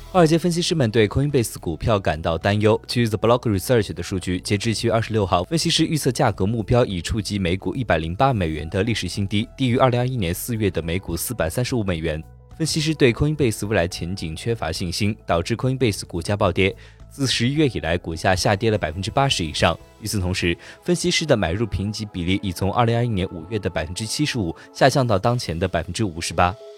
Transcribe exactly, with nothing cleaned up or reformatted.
华尔街分析师们对 Coinbase 股票感到担忧。据 The Block Research 的数据，截至七月二十六号，分析师预测价格目标已触及每股一百零八美元的历史新低，低于二零二一年四月的每股四百三十五美元。分析师对 Coinbase 未来前景缺乏信心，导致 Coinbase 股价暴跌。自十一月以来，股价下跌了 百分之八十 以上。与此同时，分析师的买入评级比例已从二零二一年五月的 百分之七十五 下降到当前的 百分之五十八。